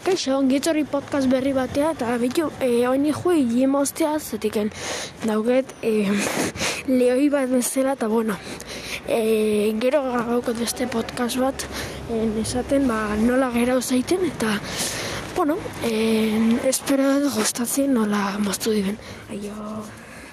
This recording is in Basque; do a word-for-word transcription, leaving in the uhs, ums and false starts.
Kaixo, ongitorri podcast berri batea, eta bitu, eh, oini jui jimostea, zetiken dauget eh, lehoi bat bezala, eta bueno, eh, gero gaukot beste podcast bat, eh, esaten, ba, nola gerau zaiten, eta, bueno, eh, espero gustatzen nola moztu diben. Aio...